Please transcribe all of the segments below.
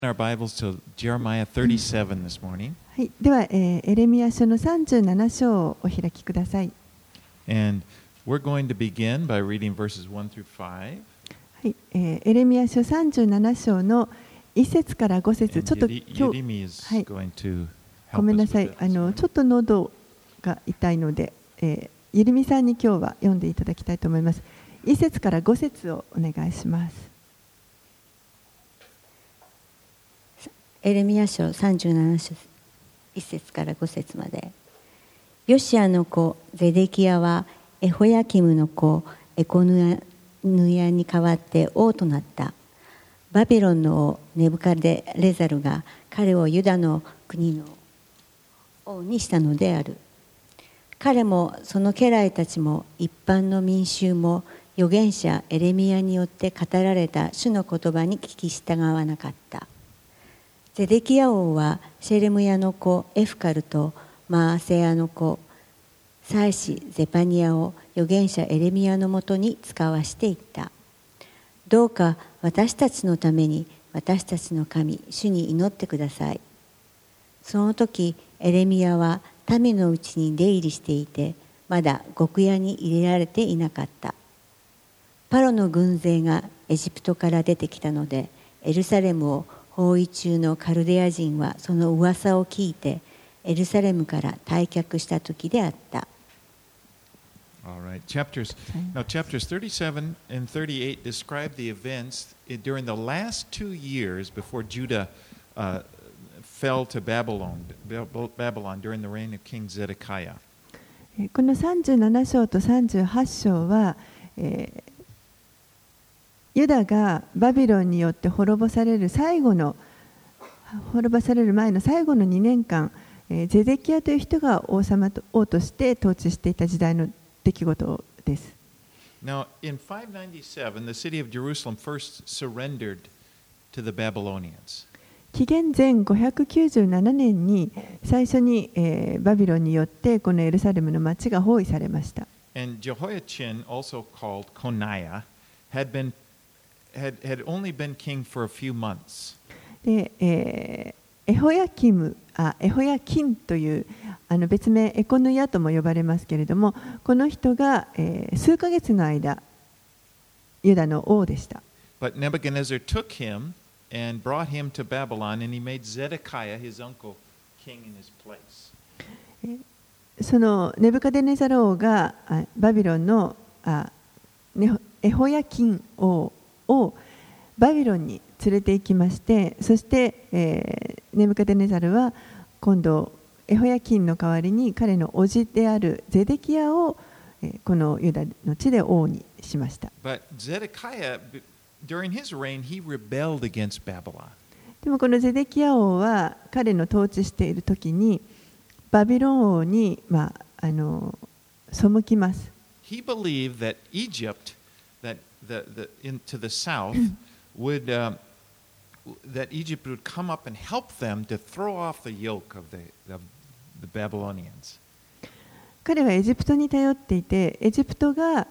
Our Bibles to Jeremiah 37 this morning. はい、では、エレミヤ書の37章をお開きください。 And we're going to begin by reading verses 1 through 5. はい、エレミヤ書37章の1節から5節、ちょっと今日、はい、ごめんなさい、ちょっと喉が痛いので、ゆりみさんに今日は読んでいただきたいと思います。1節から5節をお願いします。 エレミヤ書37章1節から5節まで。ヨシアの子ゼデキヤはエホヤキムの子エコヌヤに代わって王となった。バビロンの王ネブカデレザルが彼をユダの国の王にしたのである。彼もその家来たちも一般の民衆も預言者エレミヤによって語られた主の言葉に聞き従わなかった。ゼデキヤ王はシェレムヤの子エフカルとマーセヤの子祭司ゼパニヤを預言者エレミヤのもとに使わしていった。どうか私たちのために私たちの神主に祈ってください。その時エレミヤは民のうちに出入りしていてまだ獄屋に入れられていなかった。パロの軍勢がエジプトから出てきたのでエルサレムを包囲中のカルデア人はその噂を聞いてエルサレムから退却した時であった。 All right. Chapters 37 and 38 describe the events during the last 2 years before Judah fell to Babylon during the reign of King Zedekiah. この37章と38章は、ユダがバビロンによって滅ぼされる前の最後の2年間、ゼデキヤという人が王として統治していた時代の出来事です。 Now, in 597, the city of Jerusalem first surrendered to the Babylonians. 紀元前597年に最初に、バビロンによってこのエルサレムの町が包囲されました。 And Jehoiachin, also called Coniah, had only been king for a few months. で、エホヤキンという別名エコヌヤとも呼ばれますけれども、この人が、数ヶ月の間ユダの王でした。 But Nebuchadnezzar took him and brought him to Babylon, and he made Zedekiah, his uncle, king in his place. そのネブカデネザル王がバビロンのエホヤキン王をバビロンに連れて行きまして、そして、ネブカデネザルは今度エホヤキンの代わりに彼の叔父であるゼデキヤを、このユダの地で王にしました。 But Zedekiah, during his reign, he rebelled against Babylon. でもこのゼデキヤ王は彼の統治している時にバビロン王に、背きます。 He believed that Egypt, to the south, that Egypt would come up and help them to throw off the yoke of the Babylonians. 彼はエジプトに頼っていて、エジプトが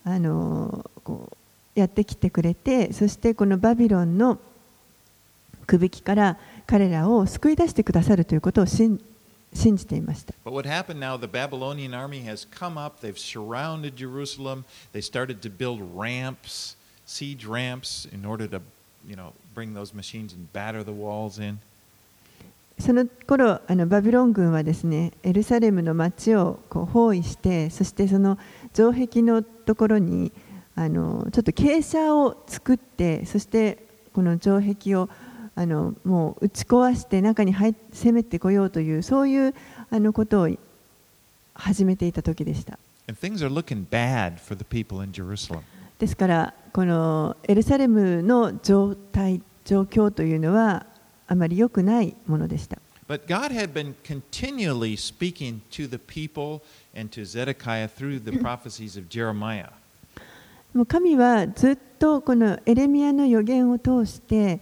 やってきてくれて、そしてこのバビロンのくびきから彼らを救い出してくださるということを信じていました。 But what happened now, the Babylonian army has come up, they've surrounded Jerusalem, they started to build ramps, siege ramps, in order to, bring those machines and batter the walls in. その頃バビロン軍はですね、エルサレムの町を包囲して、そしてその城壁のところにちょっと傾斜を作って、そしてこの城壁をもう打ち壊して中に攻めてこようというそういうことを始めていた時でした。 And things are looking bad for the people in Jerusalem. ですからこのエルサレムの状況というのはあまり良くないものでした。 But God had been continually speaking to the people and to Zedekiah through the prophecies of Jeremiah. もう神はずっとこのエレミヤの預言を通して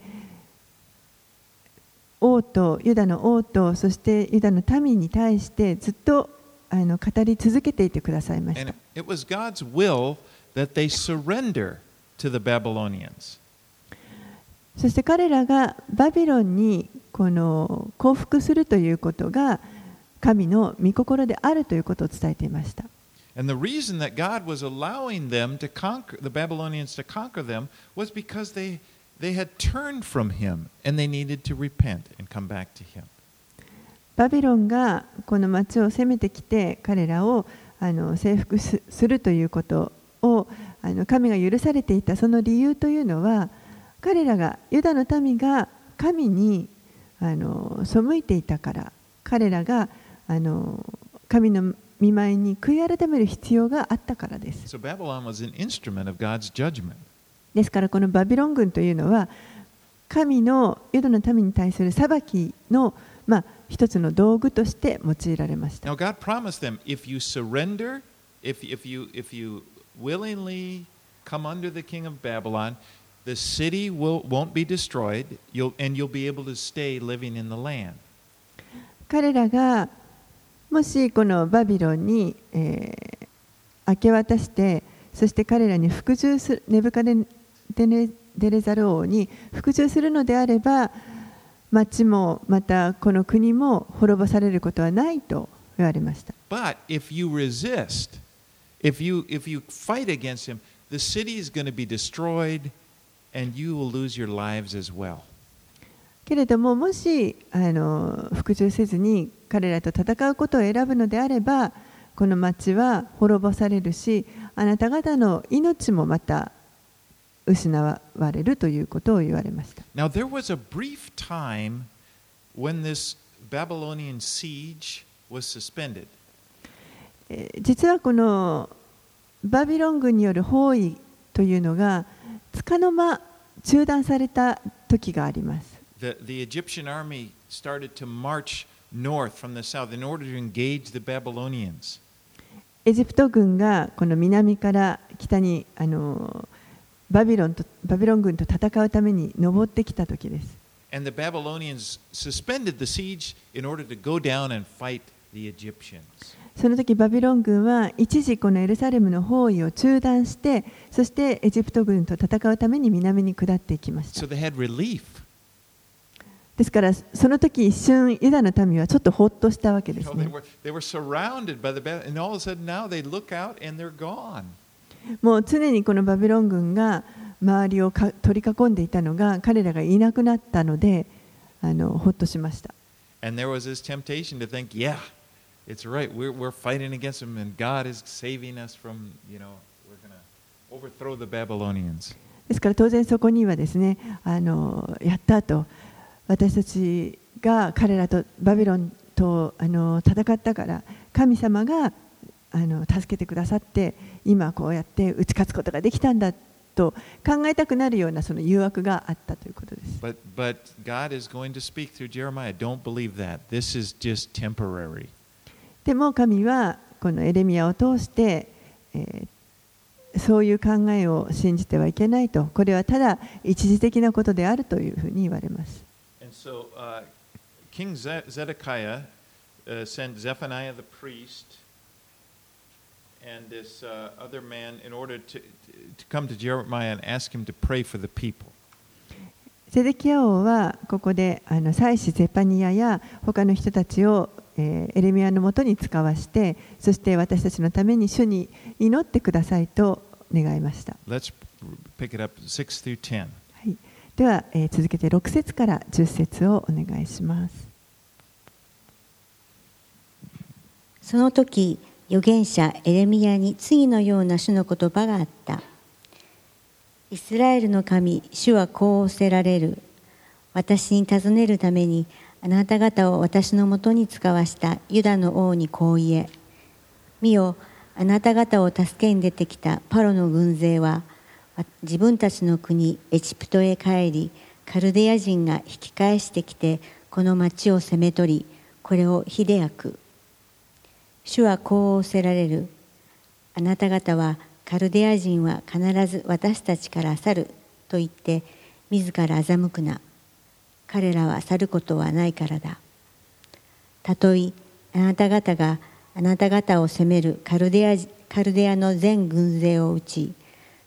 ユダの王とそしてユダの民に対してずっと語り続けていてくださいました。 And it was God's will that they surrender to the Babylonians. そして彼らがバビロンにこの降伏するということが神の御心であるということを伝えていました。 And the reason that God was allowing them to conquer the Babylonians to conquer them was because they had turned from him and they needed to repent and come back to him. バビロンがこの町を攻めてきて彼らを征服するということを神が許されていたその理由というのは、彼らがユダの民が神に背いていたから、彼らが神の御前に悔い改める必要があったからです。 So Babylon was an instrument of God's judgment. ですからこのバビロン軍というのは神のユダの民に対する裁きの一つの道具として用いられました。 Now God promised them, if you surrender, if you willingly come under the king of Babylon, the city won't be destroyed, and you'll be able to stay living in the land. 彼らがもしこのバビロンに、明け渡して、そして彼らに服従するネブカデネザル王に服従するのであれば、町もまたこの国も滅ぼされることはないと言われました。 But if you resist, if you fight against him, the city is going to be destroyed, and you will lose your lives as well. けれども、もし服従せずに彼らと戦うことを選ぶのであれば、この町は滅ぼされるし、あなた方の命もまた失われるということを言われました。 Now there was a brief time when this Babylonian siege was suspended. 実はこのバビロン軍による包囲というのが束の間中断された時があります。 The Egyptian army started to march north from the south in order to engage the Babylonians. エジプト軍がこの南から北にバビロン軍と戦うために登ってきた時です。 And the Babylonians suspended the siege in order to go down and fight the Egyptians. その時バビロン軍は一時このエルサレムの包囲を中断して、そしてエジプト軍と戦うために南に下っていきました。 So they had relief. ですからその時一瞬ユダの民はちょっとほっとしたわけですね。 They were surrounded by the Babylonians, and all of a sudden now they look out and they're gone. もう常にこのバビロン軍が周りを取り囲んでいたのが彼らがいなくなったのでほっとしました。 And there was this temptation to think, yeah, it's right. We're fighting against them, and God is saving us from, we're going to overthrow the Babylonians. ですから当然そこにはですね、やったと、私たちが彼らとバビロンと戦ったから神様が助けてくださって今こうやって打ち勝つことができたんだと考えたくなるようなその誘惑があったということです。 But God is going to speak through Jeremiah. Don't believe that. This is just temporary. でも神はこのエレミヤを通して、そういう考えを信じてはいけないと、これはただ一時的なことであるというふうに言われます。 And so King Zedekiah sent Zephaniah the priest and this other man in order to come to Jeremiah and ask him to pray for the people. ゼデキヤ王はここで祭司ゼパニヤや他の人たちをエレミヤのもとに使わして、そして私たちのために主に祈ってくださいと願いました。 Let's pick it up 6 through 10. はい、では、続けて6節から10節をお願いします。 その時預言者エレミヤに次のような主の言葉があった。イスラエルの神、主はこう仰せられる。私に尋ねるためにあなた方を私のもとに使わしたユダの王にこう言え。見よ、あなた方を助けに出てきたパロの軍勢は自分たちの国エジプトへ帰り、カルデア人が引き返してきてこの町を攻め取り、これを火で焼く。主はこう仰せられる。あなた方はカルデア人は必ず私たちから去ると言って自ら欺くな。彼らは去ることはないからだ。たとえあなた方があなた方を攻めるカルデアの全軍勢を撃ち、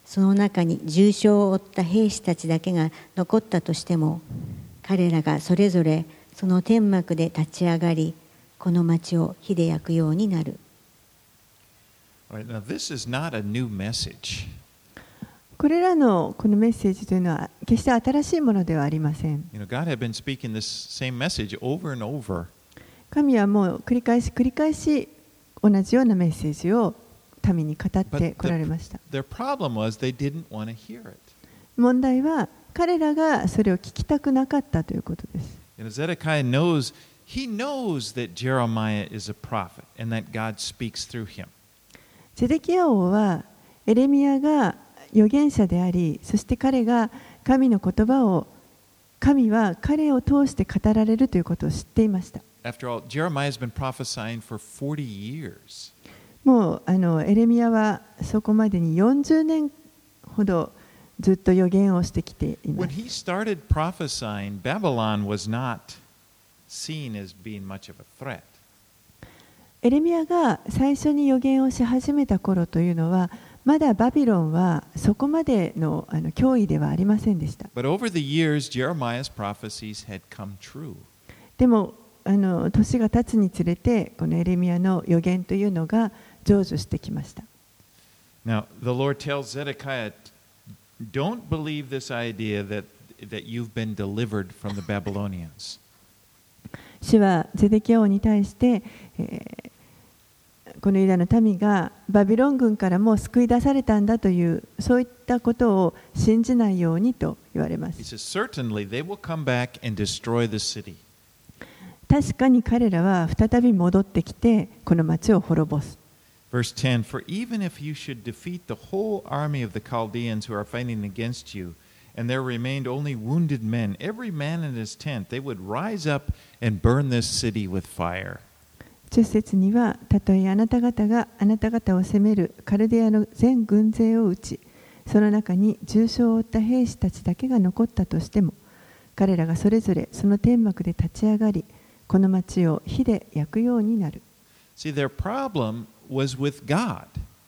その中に重傷を負った兵士たちだけが残ったとしても、彼らがそれぞれその天幕で立ち上がり、この町を火で焼くようになる。 All right, now this is not a new message. これらのこのメッセージというのは決して新しいものではありません。 God had been speaking this same message over and over. 神はもう繰り返し同じようなメッセージを民に語ってこられました。 Their problem was they didn't want to hear it. 問題は彼らがそれを聞きたくなかったということです。 Zedekiah knows that Jeremiah is a prophet and that God speaks through him. ゼデキヤ王はエレミヤが預言者であり、そして彼が神の言葉を神は彼を通して語られるということを知っていました。 After all, Jeremiah has been prophesying for 40 years. もうエレミヤはそこまでに40年ほどずっと預言をしてきていま When す。 he started prophesying, Babylon was not seen as being much of a threat. エレミヤが最初に預言をし始めた頃というのは、まだバビロンはそこまでの脅威ではありませんでした。 But over the years, Jeremiah's prophecies had come true. でも年が経つにつれてこのエレミヤの預言というのが成就してきました。 Now, the Lord tells Zedekiah, don't believe this idea that you've been delivered from the Babylonians. 主はゼデキヤ王に対して、このユダの民がバビロン軍からもう救い出されたんだというそういったことを信じないようにと言われま He す。 says, certainly they will come back and destroy the city. 確かに彼らは再び戻ってきてこの町を滅ぼす。 Verse 10, for even if you should defeat the whole army of the Chaldeans who are fighting against you, and there remained only wounded men, every man in his tent, they would rise up and burn this city with fire. 10節には、たとえあなた方があなた方を攻めるカルデアの全軍勢を撃ち、その中に重傷を負った兵士たちだけが残ったとしても、彼らがそれぞれその天幕で立ち上がり、この町を火で焼くようになる。 See, their problem was with God.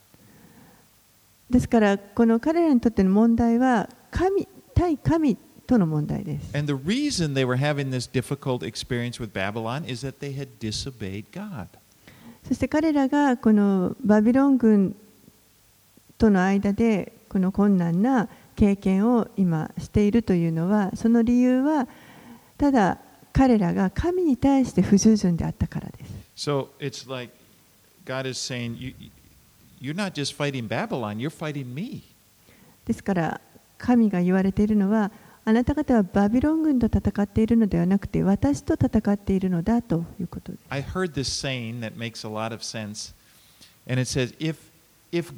ですから、この彼らにとっての問題は対神との問題です。 And the reason they were having this difficult experience with Babylon is that they had disobeyed God. そして彼らがこのバビロン軍との間でこの困難な経験を今しているというのは、その理由はただ彼らが神に対して不従順であったからです。 So it's like God is saying, you're not just fighting Babylon, you're fighting me. ですから神が言われているのは、あなた方はバビロン軍と戦っているのではなくて私と戦っているのだということです。 I heard this saying that makes a lot of sense, and it says, if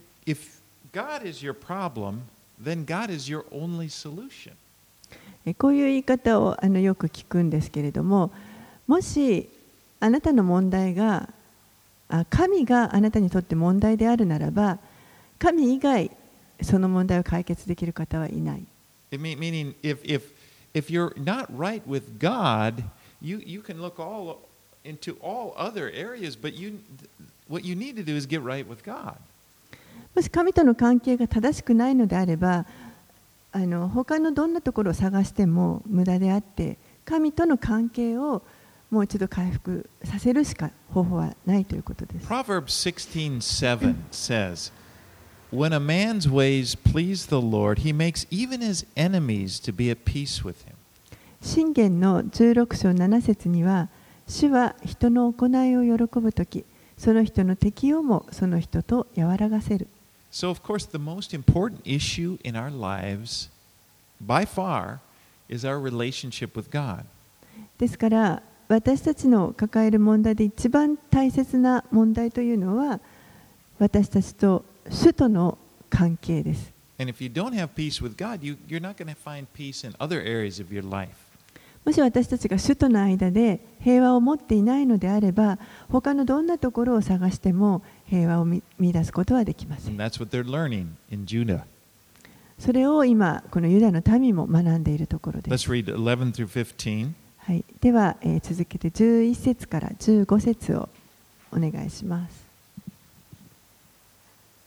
God is your problem, then God is your only solution. こういう言い方をよく聞くんですけれども、もしあなたの問題が神があなたにとって問題であるならば、神以外その問題を解決できる方はいない。 Meaning, if you're not right with God, you can look into all other areas, but what you need to do is get right with God. もし神との関係が正しくないのであれば、他のどんなところを探しても無駄であって、神との関係をもう一度回復させるしか方法はないということです。 Proverbs 16:7 says, when a man's ways please the Lord, he makes even his enemies to be at peace with him. 箴言の16章7節には、主は人の行いを喜ぶとき、その人の敵をもその人と和らがせる。 So, of course, the most important issue in our lives, by far, is our relationship with God. ですから私たちの抱える問題で一番大切な問題というのは、私たちと主との関係です。 And if you don't have peace with God, you're not going to find peace in other areas of your life. もし私たちが主との間で平和を持っていないのであれば、他のどんなところを探しても平和を見出すことはできません。 And that's what they're learning in Judah. それを今このユダの民も学んでいるところです。 Let's read 11 through 15. はい、では、続けて11節から15節をお願いします。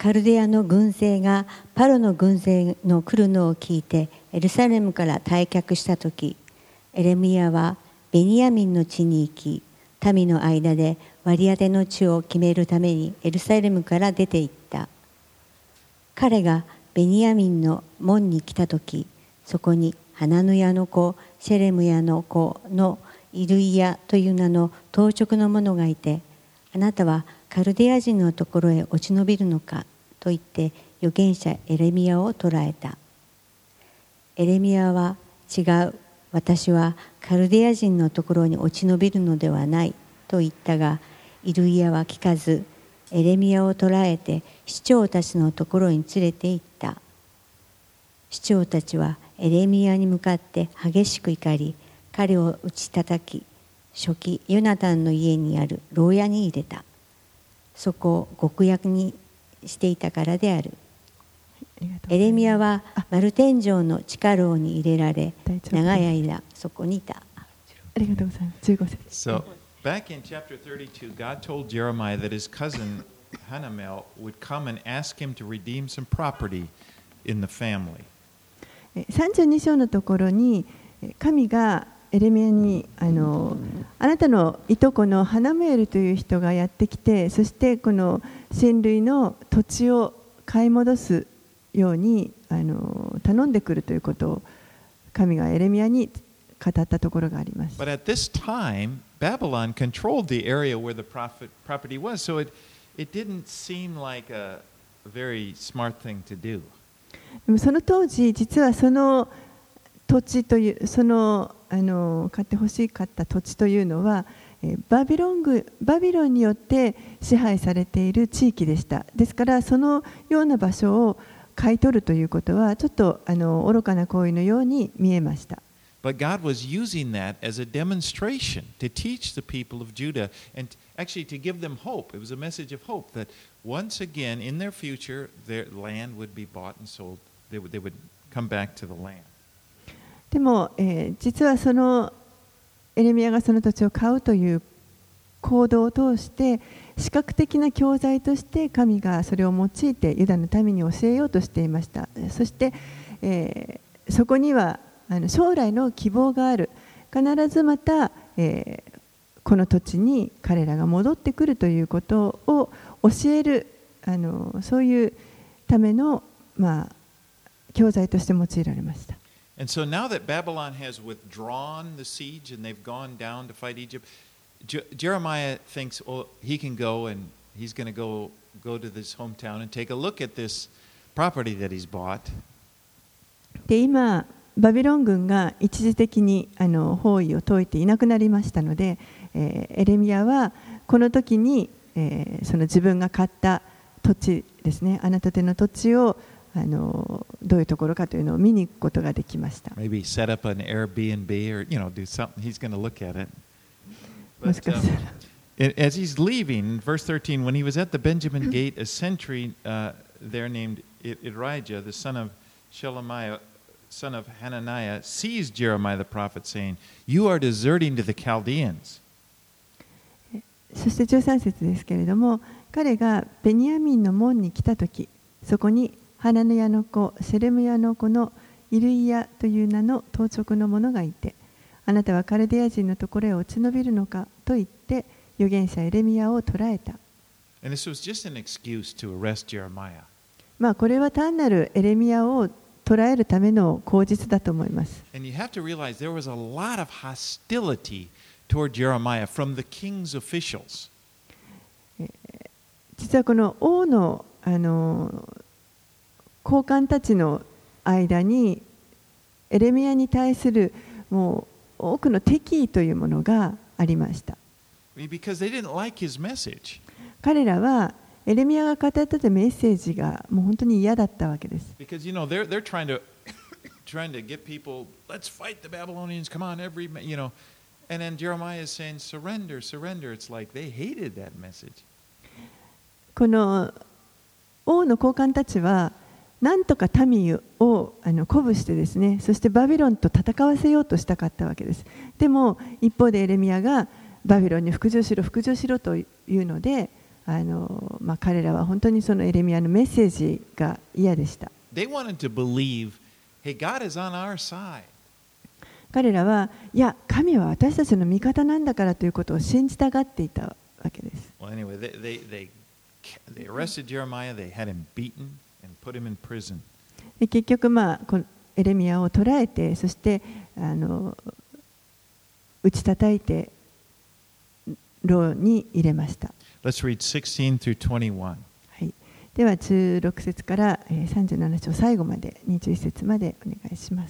カルデアの軍勢がパロの軍勢の来るのを聞いてエルサレムから退却したとき、エレミヤはベニヤミンの地に行き、民の間で割り当ての地を決めるためにエルサレムから出て行った。彼がベニヤミンの門に来たとき、そこにハナヌヤの子、シェレムヤの子のイルイヤという名の当直の者がいて、あなたはカルデア人のところへ落ち延びるのかと言って預言者エレミヤを捕らえた。エレミヤは違う、私はカルデア人のところに落ち延びるのではないと言ったが、イルイヤは聞かず、エレミヤを捕らえて市長たちのところに連れて行った。市長たちはエレミヤに向かって激しく怒り、彼を打ち叩き、書記ヨナタンの家にある牢屋に入れた。そこを極悪にしていたからである。エレミヤはマル天井の地下牢に入れられ、長い間そこにいた。 ありがとうございます。15節。 So, back in chapter 32, God told Jeremiah that his cousin Hanamel would come and ask him to redeem some property in the family. 32章のところに、神がエレミヤにあなたのいとこのハナメールという人がやってきて、そしてこの親類の土地を買い戻すように頼んでくるということを神がエレミヤに語ったところがあります。 But at this time, Babylon controlled the area where the property was, so it didn't seem like a very smart thing to do. でもその当時、実はその土地という、その買ってほしかった土地というのは、バビロンによって支配されている地域でした。ですから、そのような場所を買い取るということは、ちょっと愚かな行為のように見えました。 But God was using that as a demonstration to teach the people of Judah and actually to give them hope. It was a message of hope that once again in their future their land would be bought and sold. They would come back to the land. でも、実はそのエレミヤがその土地を買うという行動を通して視覚的な教材として神がそれを用いてユダの民に教えようとしていました。そして、そこには将来の希望がある。必ずまた、この土地に彼らが戻ってくるということを教えるそういうための、教材として用いられました。 And so now that Babylon has withdrawn the siege and they've gone down to fight Egypt, Jeremiah thinks, oh, he can go and he's going to go to this hometown and take a look at this property that he's bought. で、今バビロン軍が一時的に包囲を解いていなくなりましたので、エレミヤはこの時に、その自分が買った土地ですね、あなた手の土地をどういうところかというのを見に行くことができました。 Maybe set up an Airbnb or do something. He's going to look at it. もしかしたら。 As he's leaving, verse 13, when he was at the Benjamin gate, a sentry there named Irijah, the son of Shelemiah, son of Hananiah, seized Jeremiah the prophet, saying, "You are deserting to the Chaldeans." そして13節ですけれども、彼がベニヤミンの門に来たとき、そこにハナヌヤの子、セレムヤの子のイルイヤという名の当直の者がいて、あなたはカルデア人のところへ落ち延びるのかと言って、預言者エレミヤを捕らえた。これは単なるエレミヤを捕らえるための口実だと思います。 And you have to realize there was a lot of hostility toward Jeremiah from the king's officials. 実はこの王の高官たちの間にエレミヤに対するもう多くの敵意というものがありました。 Because they didn't like his message. 彼らはエレミヤが語ってたメッセージがもう本当に嫌だったわけです。 Because they're trying to get people, let's fight the Babylonians, come on, and then Jeremiah is saying surrender, surrender. It's like they hated that message. この王の高官たちはなんとか民を鼓舞してですね、そしてバビロンと戦わせようとしたかったわけです。でも一方でエレミヤがバビロンに服従しろ服従しろというので、 彼らは本当にそのエレミヤのメッセージが嫌でした。 They wanted to believe, hey, God is on our side. 彼らは、いや、神は私たちの味方なんだからということを信じたがっていたわけです。 Well, anyway, they arrested Jeremiah, they had him beaten and put him in prison. で結局、このエレミヤを捕らえて、そして打ち叩いて牢に入れました。 Let's read 16 through 21. はい、では16節から37章最後まで21節までお願いします。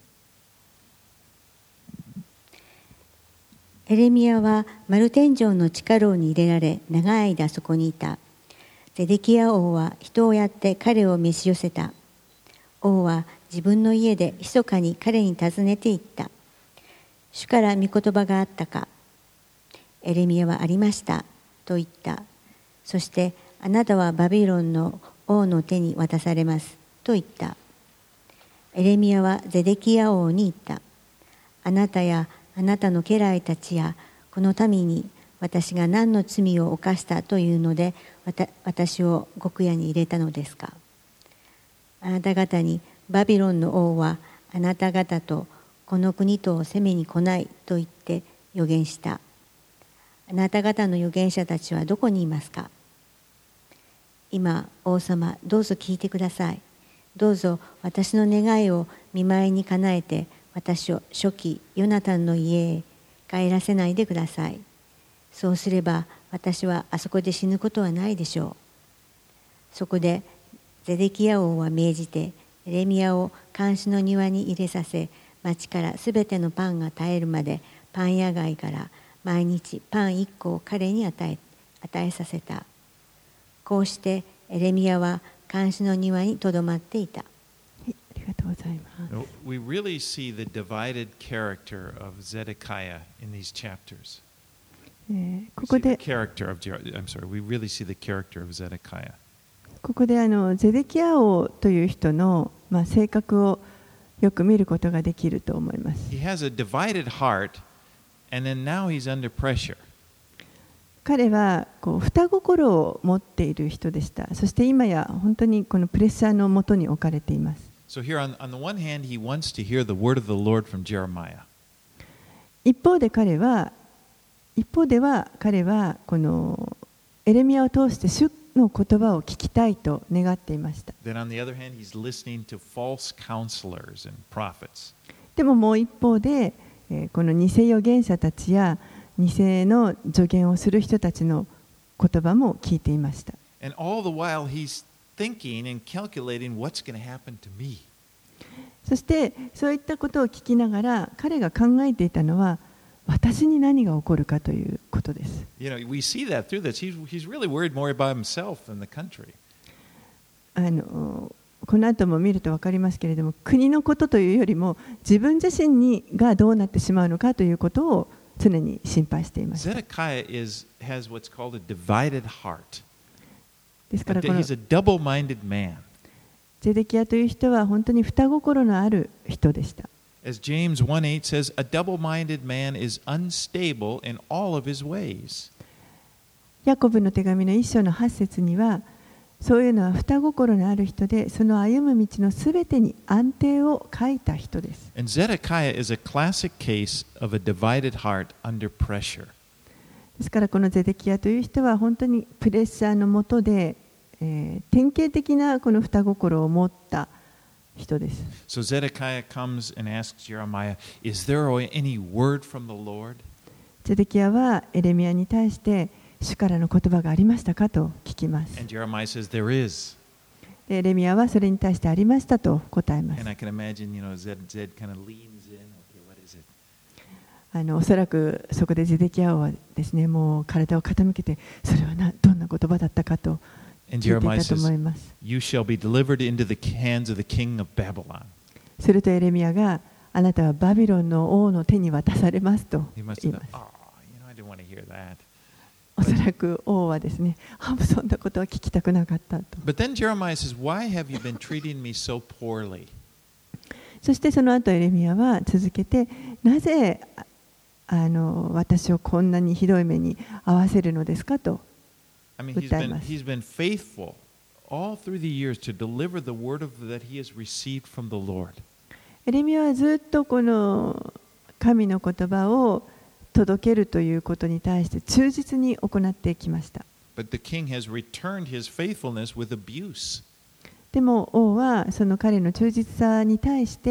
エレミヤは丸天井の地下牢に入れられ、長い間そこにいた。ゼデキヤ王は人をやって彼を召し寄せた。王は自分の家で密かに彼に尋ねていった。主から御言葉があったか。エレミヤはありましたと言った。そしてあなたはバビロンの王の手に渡されますと言った。エレミヤはゼデキヤ王に言った。あなたやあなたの家来たちやこの民に私が何の罪を犯したというので私を獄屋に入れたのですか。あなた方にバビロンの王はあなた方とこの国とを攻めに来ないと言って預言した。あなた方の預言者たちはどこにいますか。今王様、どうぞ聞いてください。どうぞ私の願いを見舞いにかなえて私を初期ヨナタンの家へ帰らせないでください。そうすれば私はあそこで死ぬことはないでしょう。そこでゼデキヤ王は命じてエレミヤを監視の庭に入れさせ、町からすべてのパンが絶えるまでパン屋街から毎日パン1個を彼に与えさせた。こうしてエレミヤは監視の庭にとどまっていた。 ありがとうございます。 We really see the divided character of Zedekiah in these chapters. ここで I'm sorry, we really see the character of Zedekiah. ここでゼデキヤ王という人の、性格をよく見ることができると思います。 He has a divided heart, and then now he's under pressure. 彼は双心を持っている人でした。そして今や本当にこのプレッシャーのもとに置かれています。 So here on the one hand, he wants to hear the word of the Lord from Jeremiah. 一方では彼はこのエレミヤを通して主の言葉を聞きたいと願っていました。 Then on the other hand, he's listening to false counselors and prophets. でももう一方で、この偽預言者たちや偽の助言をする人たちの言葉も聞いていました。 And all the while he's thinking and calculating what's going to happen to me. そしてそういったことを聞きながら彼が考えていたのは私に何が起こるかということです。 You know, we see that through this. He's really worried more about himself than the country. この後も見ると分かりますけれども、国のことというよりも自分自身がどうなってしまうのかということを常に心配しています。 Zedekiah has what's called a divided heart. ですからこの He's a double-minded man. ゼデキヤという人は本当に双心のある人でした。 As James 1:8 says, a double-minded man is unstable in all of his ways. ヤコブの手紙の1章の8節には、そういうのは双心のある人で、その歩む道のすべてに安定を欠いた人です。 And Zedekiah is a classic case of a divided heart under pressure. ですからこのゼデキヤという人は本当にプレッシャーの下で、典型的なこの双心を持った人です。 So Zedekiah comes and asks Jeremiah, "Is there any word from the Lord?" ゼデキヤはエレミヤに対して主からの言葉がありましたかと聞きます。 And Jeremiah says, "There is." でエレミヤはそれに対してありましたと答えます。 And I can imagine, Zed kind of leans in. Okay, what is it? おそらくそこでゼデキヤ王はですね、もう体を傾けて、それはどんな言葉だったかと聞いていたと思います。 You shall be delivered into the hands of the king of Babylon. するとエレミヤがあなたはバビロンの王の手に渡されますと言います。 I didn't want to hear that. おそらく王はですね、そんなことは聞きたくなかったと。 But then Jeremiah says, "Why have you been treating me so poorly?" そしてその後エレミヤは続けて、なぜ私をこんなにひどい目に遭わせるのですかと I mean, 訴えます。 he's been faithful all through the years to deliver the word of that he has received from the Lord. エレミヤはずっとこの神の言葉を届けるということに対して忠実に行ってきました。 But the king has returned his faithfulness with abuse. でも王はその彼の忠実さに対して、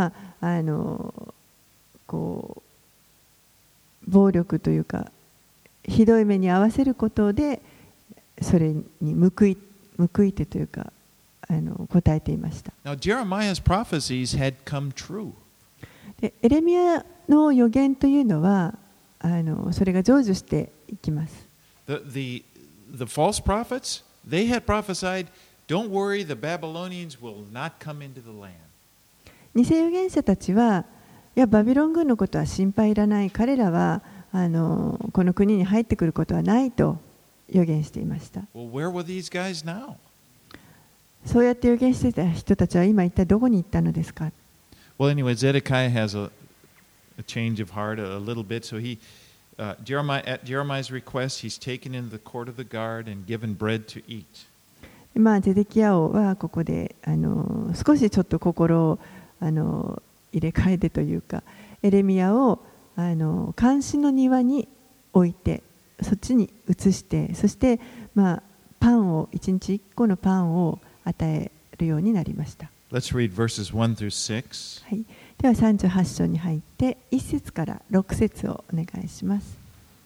こう暴力というかひどい目に遭わせることでそれに報いてというか答えていました。 Now, Jeremiah's prophecies had come true. でエレミヤの予言というのはそれが成就していきます。 The false prophets, they had prophesied, don't worry, the Babylonians will not come into the land. 偽預言者たちは、いやバビロン軍のことは心配いらない、彼らはこの国に入ってくることはないと予言していました。 Well, where were these guys now? そうやって予言していた人たちは今一体どこに行ったのですか。 Well, anyway, Zedekiah has a change of heart a little bit, so at Jeremiah's request, he's taken into the court of the guard and given bread to eat. ゼデキヤ王はここで少しちょっと心を入れ替えてというか、エレミヤを監視の庭に置いて、そっちに移して、そしてパンを1日1個のパンを与えるようになりました。 Let's read verses 1 through 6. はい、では38章に入って1節から6節をお願いします。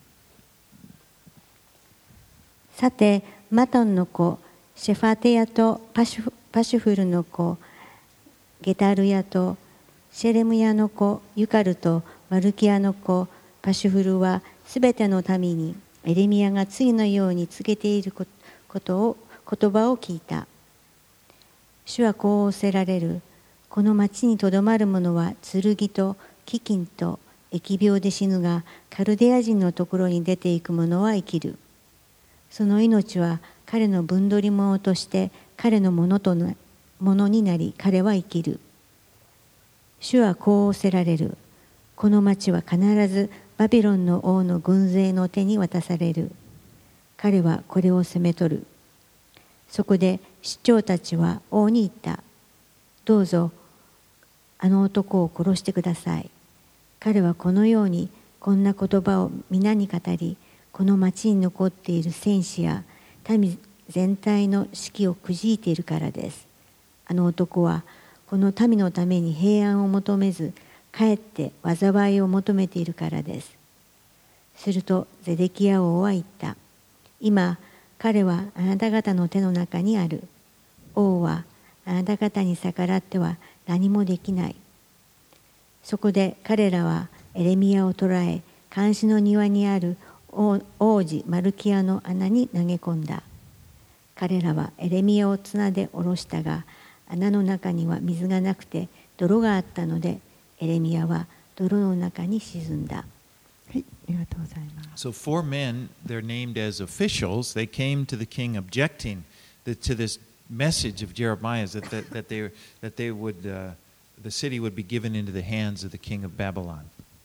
さてマトンの子シェファテヤとパシュフルの子ゲタルヤとシェレムヤの子ユカルとマルキヤの子パシュフルはすべての民にエレミヤが次のように告げている言葉を聞いた。主はこう仰せられる。この町にとどまる者は剣と飢饉と疫病で死ぬが、カルデア人のところに出ていく者は生きる。その命は彼の分取り物として彼のものになり、彼は生きる。主はこう仰せられる。この町は必ずバビロンの王の軍勢の手に渡される。彼はこれを攻め取る。そこで首長たちは王に言った。どうぞあの男を殺してください。彼はこのようにこんな言葉を皆に語り、この町に残っている戦士や民全体の士気をくじいているからです。あの男はこの民のために平安を求めず、かえって災いを求めているからです。するとゼデキヤ王は言った。今彼はあなた方の手の中にある。王はあなた方に逆らっては何もできない。そこで彼らはエレミヤを捕らえ、監視の庭にある王子マルキヤの穴に投げ込んだ。彼らはエレミヤを綱で下ろしたが、穴の中には水がなくて泥があったので、エレミヤは泥の中に沈んだ。 はい、ありがとうございます。 So 4 men, they're named as officials, they came to the king objecting to this message of Jeremiah that they would the city would be given into the hands of the king of Babylon.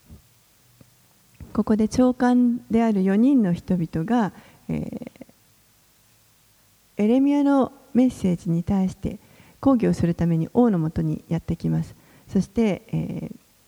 ここで長官である4人の人々が、エレミヤのメッセージに対して抗議をするために王のもとにやってきます。そして、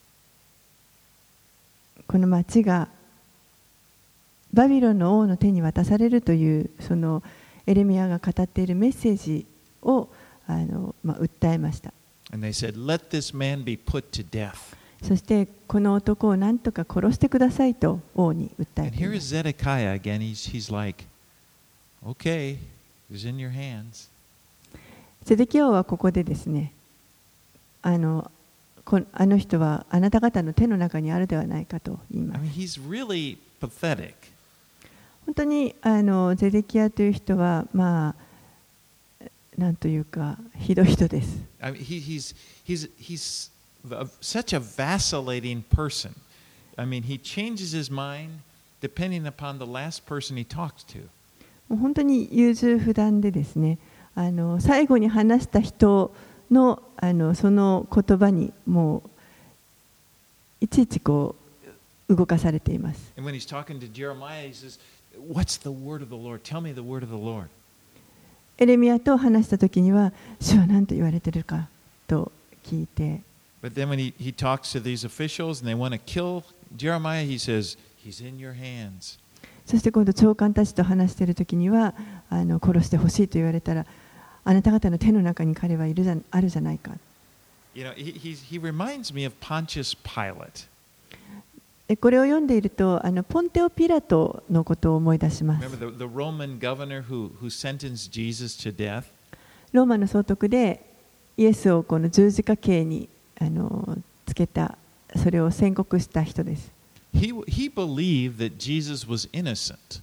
この町がバビロンの王の手に渡されるというそのエレミヤが語っているメッセージを訴えました。 And they said, "Let this man be put to death." そしてこの男を何とか殺してくださいと王に訴え And てい here ま is す。 Zedekiah again. He's like, "Okay, it's in your hands." ゼデキヤ王はここでですね、あの人はあなた方の手の中にあるではないかと言いま I す。 mean, he's really pathetic. 本当にゼデキヤという人はなんというかひどい人です。 I mean, he's such a vacillating person. I mean, he changes his mind depending upon the last person he talks to. もう本当に優柔不断でですね、最後に話した人のその言葉にもういちいちこう動かされています。 And when he's talking to Jeremiah, he says, What's the word of the Lord? Tell me the word of the Lord. エレミヤと話したときには、主は何と言われているかと聞いて、 But then when he talks to these officials and they want to kill Jeremiah, he says, He's in your hands. そして今度長官たちと話しているときには、殺してほしいと言われたら、あなた方の手の中に彼はいるあるじゃないか。 You know, he reminds me of Pontius Pilate. これを読んでいると、ポンテオ・ピラトのことを思い出します。 Remember the Roman governor who sentenced Jesus to death? ローマの総督でイエスをこの十字架刑につけた、それを宣告した人です。 He believed that Jesus was innocent.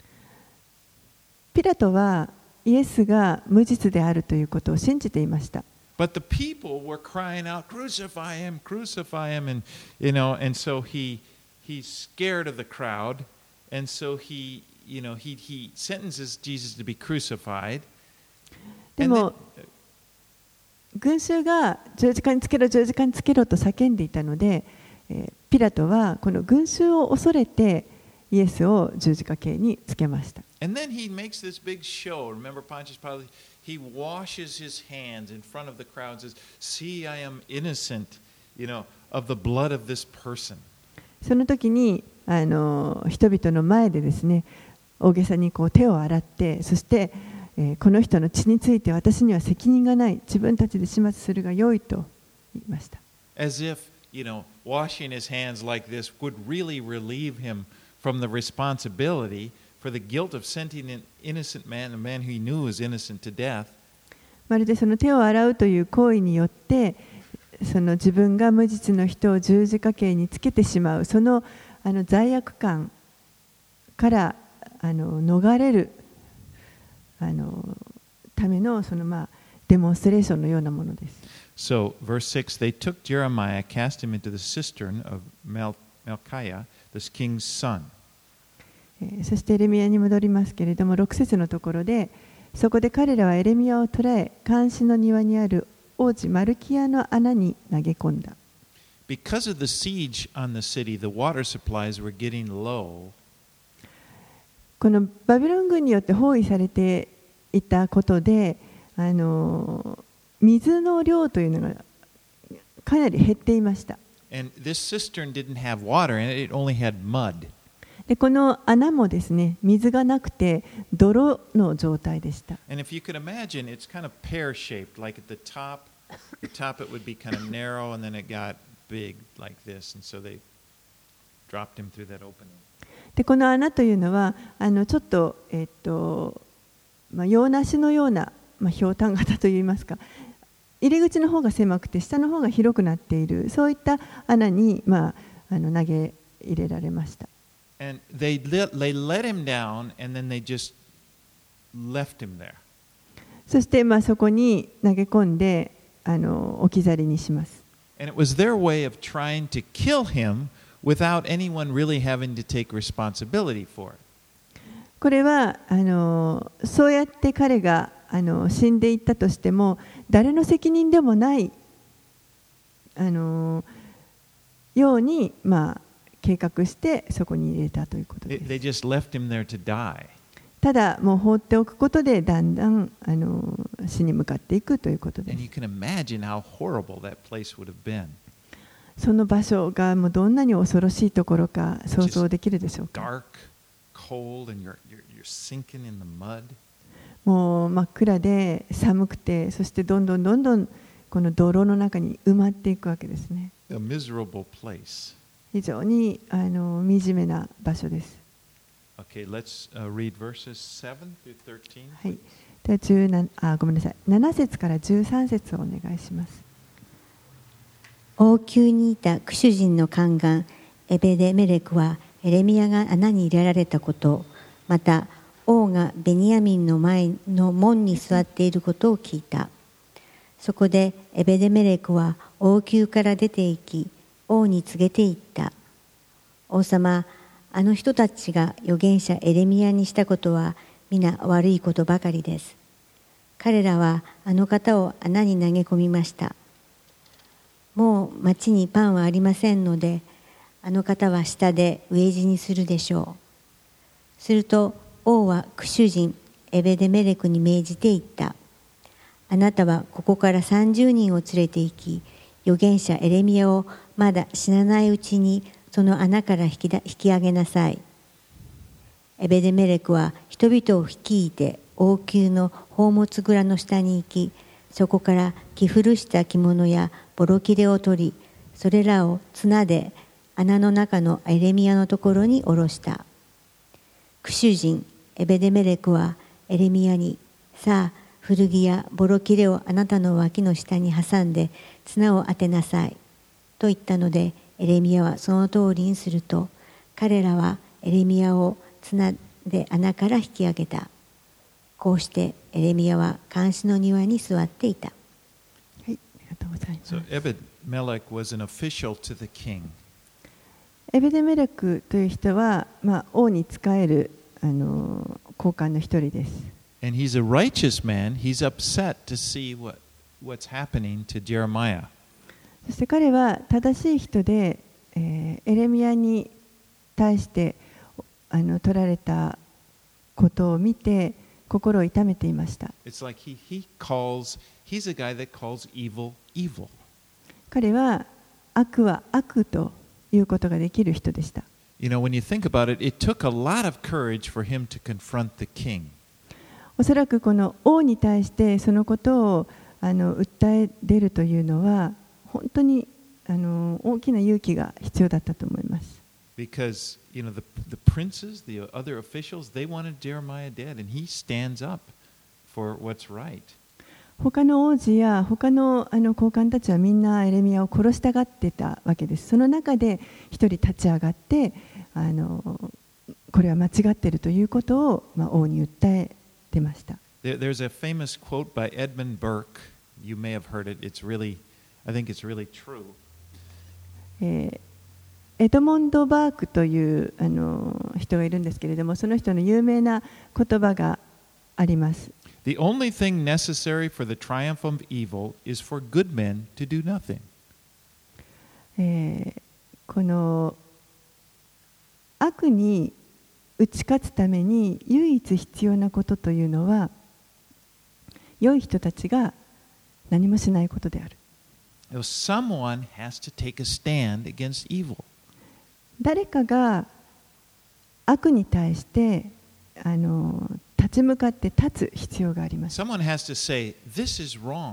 ピラトはイエスが無実であるということを信じていました。 But the people were crying out, "Crucify him, crucify him!" And and so he's scared of the crowd, and so he sentences Jesus to be crucified. でも群衆が十字架につけろ、十字架につけろと叫んでいたので、ピラトはこの群衆を恐れてイエスを十字架刑につけました。 And then he makes this big show. Remember Pontius Pilate? He washes his hands in front of the crowd and says, "See, I am innocent, of the blood of this person." その時に人々の前でですね、大げさにこう手を洗って、そして、この人の血について私には責任がない、自分たちで始末するが良いと言いました。 As if, washing his hands like this would really relieve him from the responsibility for the guilt of sending an innocent man, a man who he knew was innocent, to death. まるでその手を洗うという行為によって、その自分が無実の人を十字架刑につけてしまう、その罪悪感から逃れるためのデモンストレーションのようなものです。 So, verse 6, they took Jeremiah, cast him into the cistern of Malchiah, this king's son. そしてエレミヤに戻りますけれども、6節のところで、そこで彼らはエレミヤを捕らえ、監視の庭にある王子マルキアの穴に投げ込んだ。 Because of the siege on the city, the water supplies were getting low. このバビロン軍によって包囲されていたことで、水の量というのがかなり減っていました。 And this cistern didn't have water in it, it only had mud. でこの穴もですね、水がなくて泥の状態でした。 And if you could imagine, it's kind of pear-shaped, like at the top it would be kind of narrow, and then it got big like this, and so they dropped him through that opening. でこの穴というのはちょっと洋梨のような、ひょうたん型といいますか、入り口の方が狭くて下の方が広くなっている、そういった穴に、投げ入れられました。 And they let him down, and then they just left him there. そしてそこに投げ込んで置き去りにします。 And it was their way of trying to kill him without anyone really having to take responsibility for it. これはそうやって彼が死んでいったとしても誰の責任でもないように計画してそこに入れたということです。 They just left him there to die. ただもう放っておくことでだんだん死に向かっていくということで And you す。 can imagine how horrible that place would have been. その場所がもうどんなに恐ろしいところか想像できるでしょうか。 Dark, cold, and you're sinking in the mud. もう真っ暗で寒くて、そしてどんどんこの泥の中に埋まっていくわけですね。 A miserable place. 非常に惨めな場所です。 Okay, let's read verses 7 through 13. はい。ではごめんなさい。7節から13節をお願いします。 王宮にいたクシュ人の宦官エベデメレクはエレミヤが穴に入れられたこと、また王がベニヤミンの前の門に座っていることを聞いた。そこでエベデメレクは王宮から出て行き、王に告げていった。王様、あの人たちが預言者エレミヤにしたことは皆悪いことばかりです。彼らはあの方を穴に投げ込みました。もう町にパンはありませんので、あの方は下で飢え死にするでしょう。 すると王はクシュ人エベデメレクに命じて言った。あなたはここから30人を連れて行き、預言者エレミヤをまだ死なないうちにその穴から引き上げなさい。エベデメレクは人々を率いて王宮の宝物蔵の下に行き、そこから着古した着物やボロ切れを取り、それらを綱で穴の中のエレミヤのところに下ろした。クシュ人エベデメレクはエレミヤに、さあ古着やボロ切れをあなたの脇の下に挟んで綱を当てなさいと言ったので、エレミヤはその通りにすると、彼らはエレミヤを綱で穴から引き上げた。こうしてエレミヤは監視の庭に座っていた。 はい、ありがとうございます。 So Ebed-Melech was an official to the king. エベデメレクという人は、王に仕える高官の一人です。 And he's a righteous man. He's upset to see what's happening to Jeremiah. そして彼は正しい人で、エレミヤに対して取られたことを見て心を痛めていました。 It's like he's a guy that calls evil evil. 彼は悪は悪ということができる人でした。 You know, when you think about it, it took a lot of courage for him to confront the king. おそらくこの王に対してそのことを訴え出るというのは本当に大きな勇気が必要だったと思います。 Because, you know, the princes, the other officials, they wanted Jeremiah dead, and he stands up for what's right. 他の王子や他の高官たちはみんなエレミヤを殺したがってたわけです。その中で一人立ち上がってこれは間違っているということを、王に訴えてました。 There's a famous quote by Edmund Burke. You may have heard it. I think it's really true. エドモンド・バークという人がいるんですけれども、その人の有名な言葉があります。 The only thing necessary for the triumph of evil is for good men to do nothing. この悪に打ち勝つために唯一必要なことというのは、良い人たちが何もしないことである。 Someone has to take a stand against evil. 誰かが悪に対して立ち向かって立つ必要があります。 Someone has to say, "This is wrong."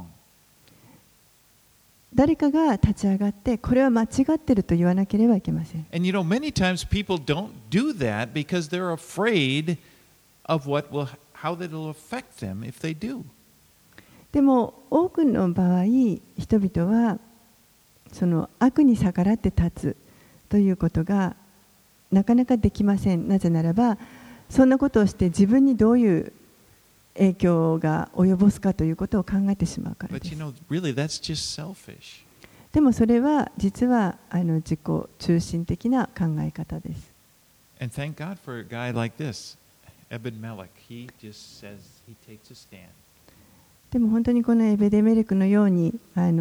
誰かが立ち上がってこれは間違っていると言わなければいけません。 And you know, many times people don't do that because they're afraid of how that will affect them if they do. でも多くの場合、人々はその悪に逆らって立つということがなかなかできません。なぜならば、そんなことをして自分にどういう影響が及ぼすかということを考えてしまうからです。 But you know, really, that's just selfish. でもそれは実は自己中心的な考え方です。 And thank God for a guy like this, Ebed-Melech. He just says he takes a stand. でも本当にこのエベデメレクのように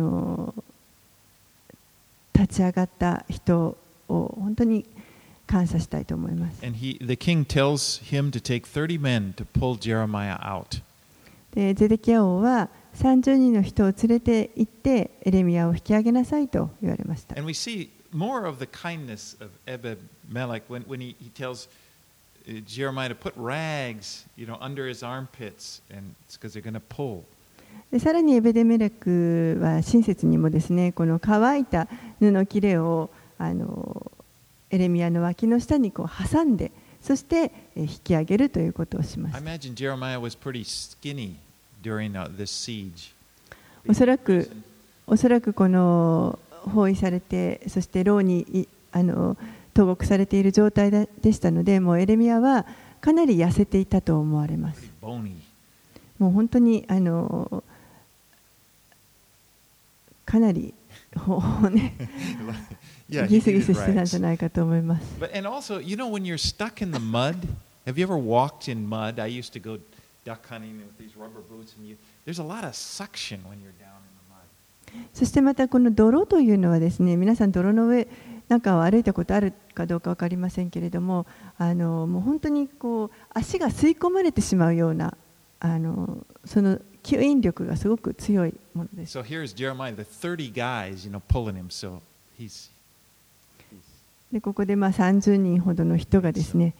立ち上がった人を本当に感謝したいと思います。 And the king tells him to take 30 men to pull Jeremiah out. でゼデキヤ王は30人の人を連れて行ってエレミヤを引き上げなさいと言われました。 And we see more of the kindness of Ebed-Melech when he tells Jeremiah to put rags, you know, under his armpits, and it's because they're going to pull. でさらにエベデメレクは親切にもですね、この乾いた布切れをエレミヤの脇の下にこう挟んで、そして引き上げるということをします。 I imagine Jeremiah was pretty skinny during this siege. おそらくこの包囲されて、そして牢に投獄されている状態でしたので、もうエレミヤはかなり痩せていたと思われます。もう本当にかなりギスギスしてたんじゃないかと思います。 And also, you know, when you're stuck in the mud, have you ever walked in mud? I used to go duck hunting with these rubber boots, and there's a lot of suction when you're down in the mud. そしてまたこの泥というのはですね、皆さん泥の上なんかを歩いたことあるかどうか分かりませんけれども、もう本当にこう足が吸い込まれてしまうようなその吸引力がすごく強いものです。 So here's Jeremiah, the 30 guys, pulling him. So he's でここで30人ほどの人がですね、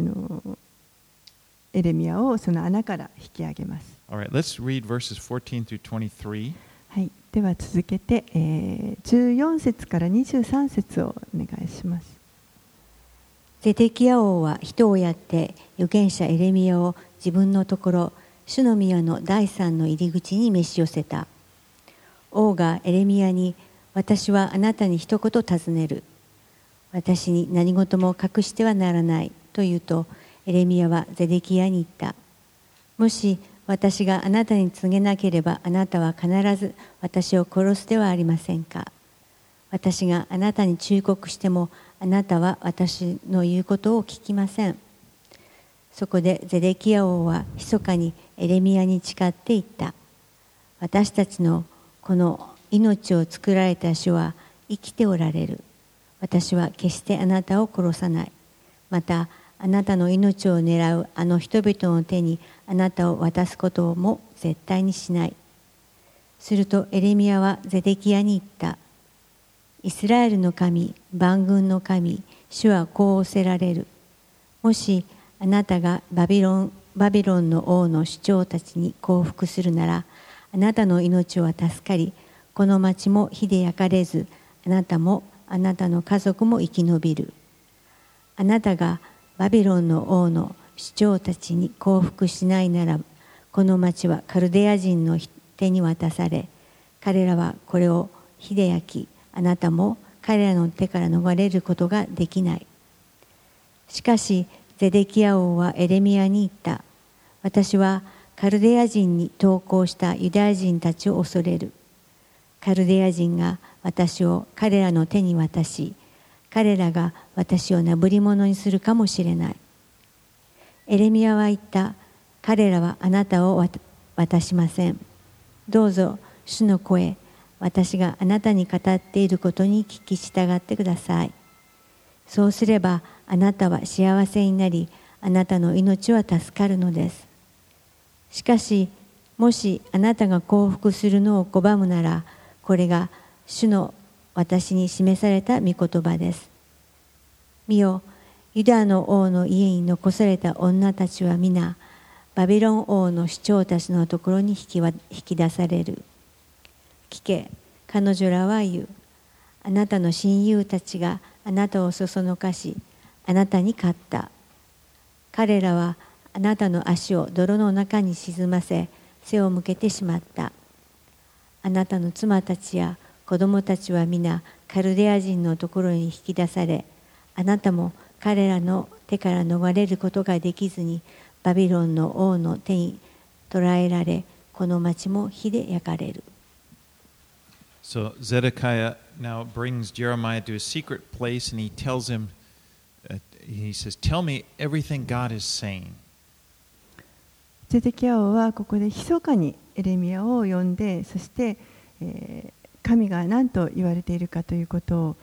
エレミヤをその穴から引き上げます。 All right, let's read verses 14 through 23. はい、では続けて、14節から23節をお願いします。 ゼデキヤ王は人をやって預言者エレミヤを自分のところ、主の宮の第三の入り口に召し寄せた。王がエレミヤに、私はあなたに一言尋ねる。私に何事も隠してはならないと言うと、エレミヤはゼデキヤに言った。もし私があなたに告げなければ、あなたは必ず私を殺すではありませんか。私があなたに忠告しても、あなたは私の言うことを聞きません。そこでゼデキヤ王は密かにエレミヤに誓って言った。私たちのこの命を作られた主は生きておられる。私は決してあなたを殺さない。またあなたの命を狙うあの人々の手にあなたを渡すことも絶対にしない。するとエレミヤはゼデキヤに言った。イスラエルの神、万軍の神、主はこう仰せられる。もしあなたがバビロンの王の首長たちに降伏するなら、あなたの命は助かり、この町も火で焼かれず、あなたもあなたの家族も生き延びる。あなたがバビロンの王の首長たちに降伏しないなら、この町はカルデア人の手に渡され、彼らはこれを火で焼き、あなたも彼らの手から逃れることができない。しかしゼデキヤ王はエレミヤに言った。私はカルデア人に投降したユダヤ人たちを恐れる。カルデア人が私を彼らの手に渡し、彼らが私をなぶり者にするかもしれない。エレミヤは言った。彼らはあなたを渡しません。どうぞ主の声、私があなたに語っていることに聞き従ってください。そうすればあなたは幸せになり、あなたの命は助かるのです。しかし、もしあなたが降伏するのを拒むなら、これが主の私に示された御言葉です。見よ、ユダの王の家に残された女たちは皆、バビロン王の首長たちのところに引き出される。聞け、彼女らは言う。あなたの親友たちがあなたをそそのかし、あなたに勝った。彼らはあなたの足を泥の中に沈ませ、背を向けてしまった。あなたの妻たちや子供たちは皆カルデア人のところに引き出され、あなたも彼らの手から逃れることができずにバビロンの王の手に捕らえられ、この町も火で焼かれる。 So Zedekiah now brings Jeremiah to a secret place and he tells him, he says, "Tell me everything God is saying." ゼデキヤ王はここで密かにエレミヤを呼んで、そして、神が何と言われているかということを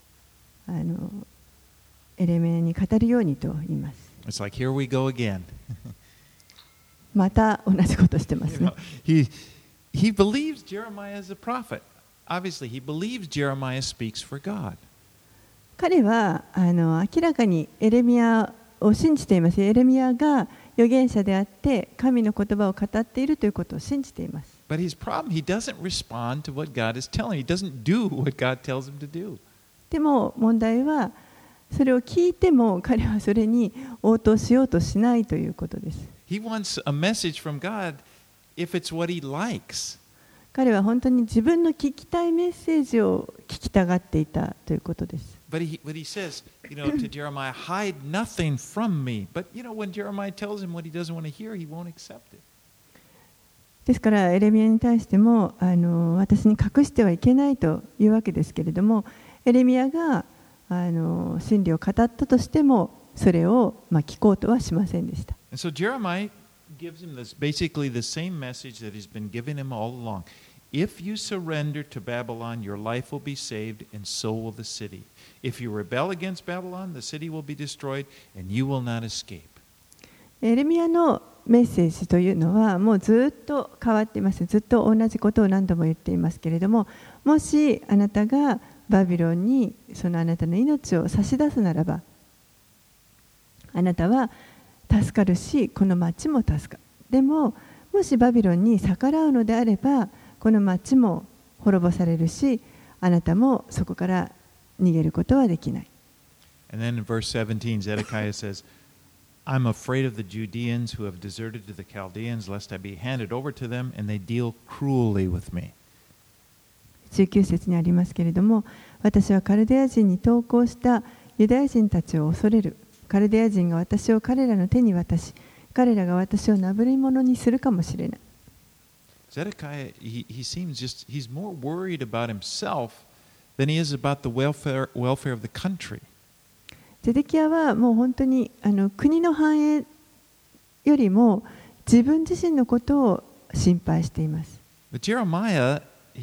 エレミヤに語るようにと言います。 It's like, here we go again. また同じことしてますね。 He believes Jeremiah is a prophet. Obviously, he believes Jeremiah speaks for God. 彼は明らかにエレミヤを信じています。エレミヤが預言者であって神の言葉を語っているということを信じています。 But his problem, he doesn't respond to what God is telling him. He doesn't do what God tells him to do. でも問題はそれを聞いても彼はそれに応答しようとしないということです。 He wants a message from God if it's what he likes. 彼は本当に自分の聞きたいメッセージを聞きたがっていたということです。 But he says, to Jeremiah, hide nothing from me. But, when Jeremiah tells him what he doesn't want to hear, he won't accept it. ですからエレミヤに対しても私に隠してはいけないというわけですけれども、エレミヤが真理を語ったとしてもそれを聞こうとはしませんでした。 And so Jeremiah gives him basically the same message that he's been giving him all along. If you surrender to Babylon, your life will be saved, and so will the city. If you rebel against Babylon, the city will be destroyed, and you will not escape. エレミヤのメッセージというのはもうずっと変わっています。ずっと同じことを何度も言っていますけれども、もしあなたがバビロンにそのあなたの命を差し出すならば、あなたは助かるし、この町も助かる。でも、もしバビロンに逆らうのであれば、この町も滅ぼされるし、あなたもそこから逃げることはできない。 And then in verse 17, Zedekiah says, I'm afraid of the Judeans who have deserted to the Chaldeans, lest I be handed over to them, and they deal cruelly with me. 19節にありますけれども、私はカルデア人に投降したユダヤ人たちを恐れる。カルデア人が私を彼らの手に渡し、彼らが私をなぶり者にするかもしれない。 Zedekiah, he seems just, he's more worried about himself than he is about the welfare of the country. ゼデキヤはもう本当に国の繁栄よりも自分自身のことを心配しています。 But Jeremiah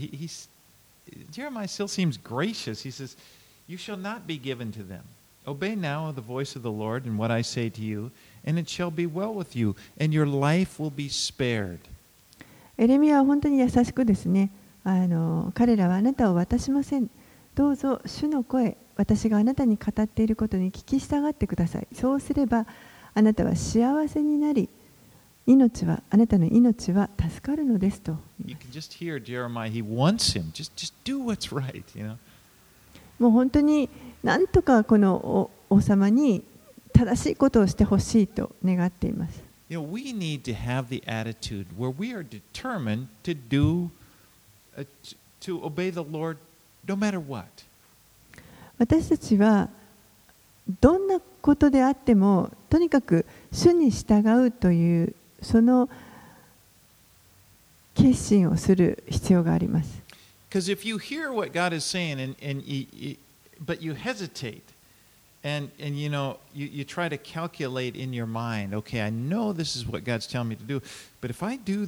still seems gracious. He says, You shall not be given to them. Obey now the voice of the Lord and what I say to you, and it shall be well with you, and your life will be spared. エレミヤは本当に優しくですね、彼らはあなたを渡しません。どうぞ主の声、私があなたに語っていることに聞き従ってください。そうすればあなたは幸せになり、あなたの命は助かるのですと。 You can just hear Jeremiah, he wants him. Just do what's right, you know. もう本当になんとかこの王様に正しいことをしてほしいと願っています。 You know, we need to have the attitude where we are determined to obey the Lord no matter what. 私たちはどんなことであってもとにかく主に従うというその決心をする必要があります。 Because if you hear what God is saying but you hesitate and you know you try to calculate in your mind, okay, I know this is what God's telling me to do, but if I do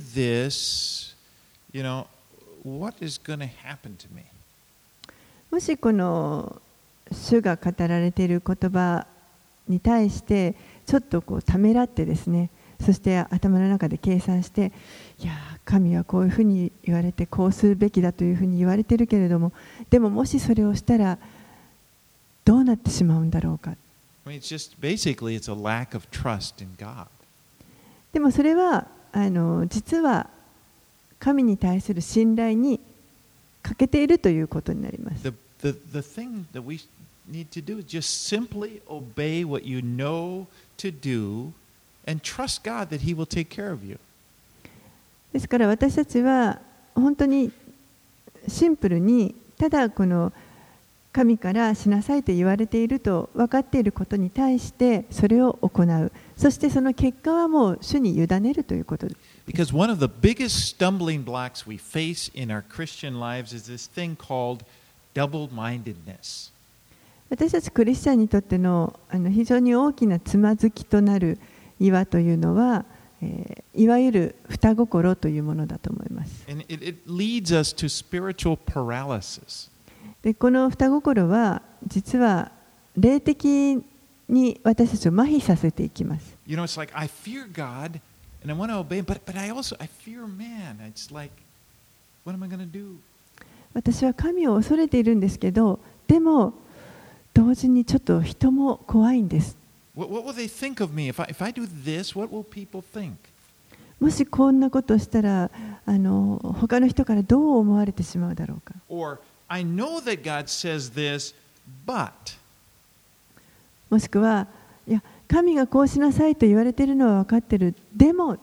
this, you know, what is going to happen to me? もしこの主が語られている言葉に対してちょっとためらってですね、そして頭の中で計算して、いや神はこういうふうに言われてこうするべきだというふうに言われているけれども、でももしそれをしたらどうなってしまうんだろうか。 I mean, basically it's a lack of trust in God. でもそれは実は神に対する信頼に欠けているということになります。 The thing that we need to do is just simply obey what you know to do and trust God that He will take care of you. ですから私たちは本当にシンプルにただこの神からしなさいと言われていると分かっていることに対してそれを行う。そしてその結果はもう主に委ねるということです。 Because one of the biggest stumbling blocks we face in our Christian lives is this thing called double-mindedness. 私たちクリスチャンにとっての非常に大きなつまずきとなる岩というのは、いわゆる双心というものだと思います。 And it leads us to spiritual paralysis. でこの双心は実は霊的に私たちを麻痺させていきます。 You know, it's like I fear God and I want to obey, but I fear man. It's like, what am I going to do? 私は神を恐れているんですけど、でも同時にちょっと人も怖いんです。 What will they think of me? If I do this, what will people think? もしこんなことをしたら他の人からどう思われてしまうだろうか。 Or I know that God says this, but もしくは、いや神がこうしなさいと言われているのは分かってる。でも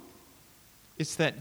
it's that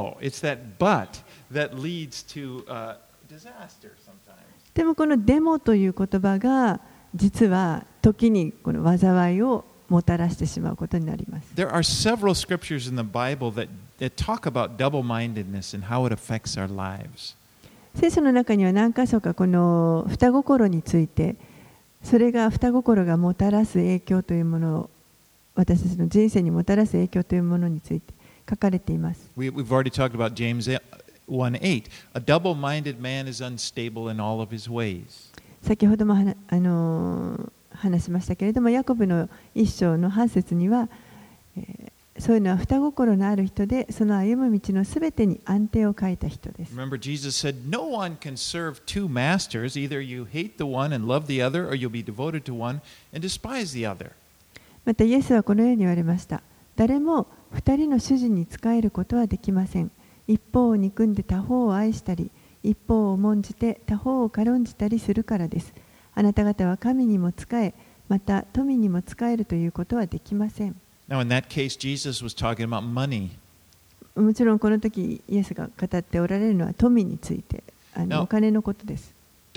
but that leads to disaster sometimes. でもこのデモという言葉が実は時にこの災いをもたらしてしまうことになります。 There are several scriptures in the Bible that talk about double-mindedness and how it affects our lives. 聖書の中には何箇所かこの双心について、それが双心がもたらす影響というものを、私たちの人生にもたらす影響というものについて書かれています。 We've already talked about James 1:8. A double-minded man is unstable in all of his ways. 先ほども話しましたけれども、ヤコブの一章の8節には、そういうのは双心のある人で、その歩む道のすべてに安定を書いた人です。 Remember, Jesus said, "No one can serve two masters. Either you hate the one and love the other, or you'll be devoted to one and despise the other." またイエスはこのように言われました。誰も二人の主人に仕えることはできません。一方を憎んで他方を愛したり、一方を重んじて他方を軽んじたりするからです。あなた方は神にも仕え、また富にも仕えるということはできません。 Now, in that case, Jesus was talking about money. もちろんこの時イエスが語っておられるのは富について、お金のことです。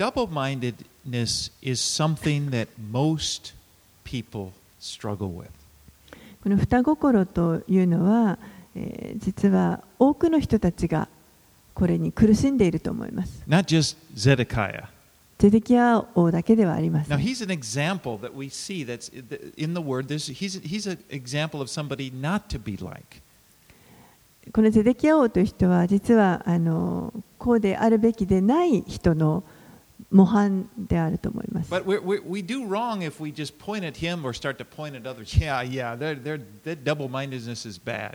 Double-mindedness is something that most people struggle with. この双心というのは、実は多くの人たちがこれに苦しんでいると思います。 Not just Zedekiah. ゼデキヤ王だけではありませ Now, ん。 he's an example that we see that's in the Word. He's an example of somebody not to be like. このゼデキヤ王という人は実はこうであるべきでない人の模範であると思います。 But we do wrong if we just point at him or start to point at others. Yeah, that double-mindedness is bad.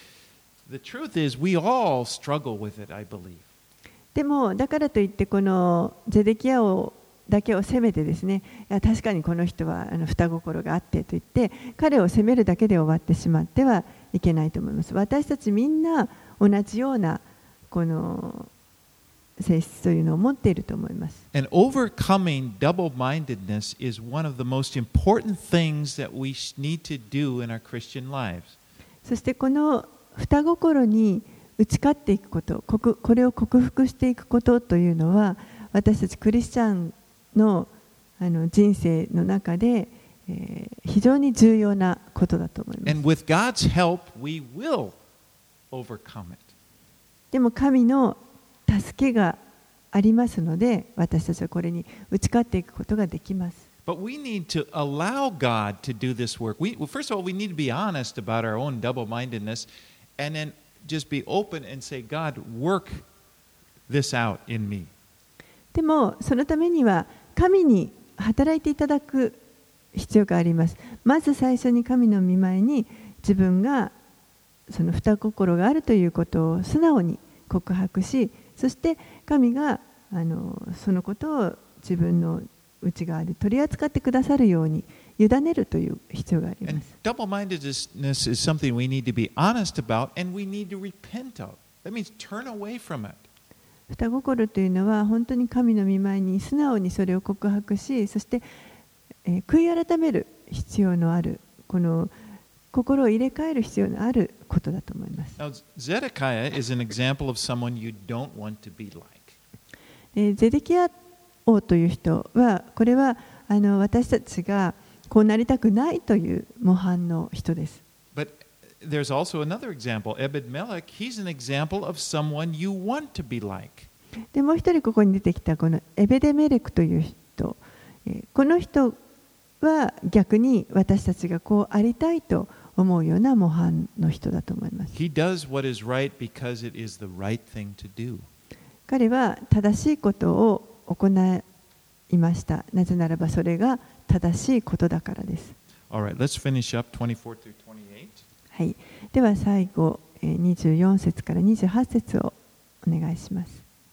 The truth is, we all struggle with it, I believe. でもだからといってこのゼデキヤ王だけを責めてですね、いや確かにこの人は双心があってと言って彼を責めるだけで終わってしまってはいけないと思います。私たちみんな同じようなこの性質というのを持っていると思います。 And overcoming double-mindedness is one of the most important things that we need to do in our Christian lives. そしてこの双心に打ち勝っていくこと、これを克服していくことというのは私たちクリスチャンの人生の中で、非常に重要なことだと思います。 And with God's help, we will overcome it. でも神の助けがありますので、私たちはこれに打ち勝っていくことができます。 But we need to allow God to do this work. First of all, we need to be honest about our own double-mindedness, and then just be open and say, God, work this out in me. でもそのためには神に働いていただく必要があります。まず最初に神の御前に自分がその双心があるということを素直に告白し、そして神がそのことを自分の内側で取り扱ってくださるように委ねるという必要がありま And す。 double-mindedness is something we need to be honest about and we need to repent of. That means turn away from it. 双心というのは本当に神の御前に素直にそれを告白し、そして、悔い改める必要のある、この心を入れ替える必要のあることだと思います。 Now, Zedekiah is an example of someone you don't want to be like. ゼデキヤ王という人は、これは私たちがこうなりたくないという模範の人です。 But there's also another example. Ebed-Melech, he's an example of someone you want to be like. でもう一人ここに出てきたこのエベデメレクという人、この人は逆に私たちがこうありたいと思うような模範の人だと思います。 He does what is right because it is the right thing to do. 彼は正しいことを行いました。なぜならばそれが正しいことだからです。 All right, let's finish up 24 through 28. はい、では最後24節から28節をお願いします